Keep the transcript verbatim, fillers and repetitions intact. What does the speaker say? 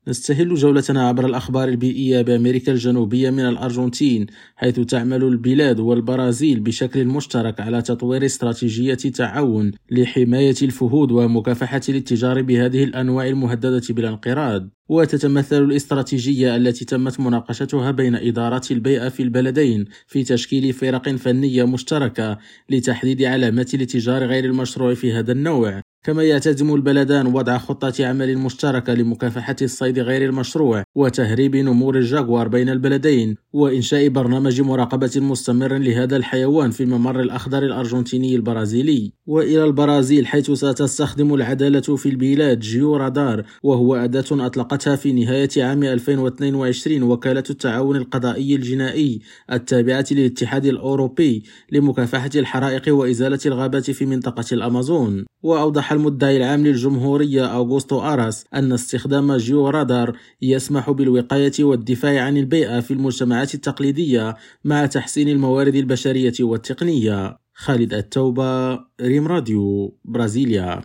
نستهل جولتنا عبر الأخبار البيئية بأمريكا الجنوبية من الأرجنتين، حيث تعمل البلاد والبرازيل بشكل مشترك على تطوير استراتيجية تعاون لحماية الفهود ومكافحة الاتجار بهذه الأنواع المهددة بالانقراض. وتتمثل الاستراتيجية التي تمت مناقشتها بين إدارات البيئة في البلدين في تشكيل فرق فنية مشتركة لتحديد علامات الاتجار غير المشروع في هذا النوع. كما يعتزم البلدان وضع خطة عمل مشتركة لمكافحة الصيد غير المشروع وتهريب نمور الجاغوار بين البلدين، وإنشاء برنامج مراقبة مستمر لهذا الحيوان في الممر الأخضر الأرجنتيني البرازيلي. وإلى البرازيل، حيث ستستخدم العدالة في البلاد جيو رادار، وهو أداة أطلقتها في نهاية عام ألفين واثنين وعشرين وكالة التعاون القضائي الجنائي التابعة للاتحاد الأوروبي لمكافحة الحرائق وإزالة الغابات في منطقة الأمازون. وأوضح المدعي العام للجمهورية أوغوستو أراس أن استخدام جيو رادار يسمح بالوقاية والدفاع عن البيئة في المجتمعات التقليدية مع تحسين الموارد البشرية والتقنية. خالد التوبة، ريم راديو، برازيليا.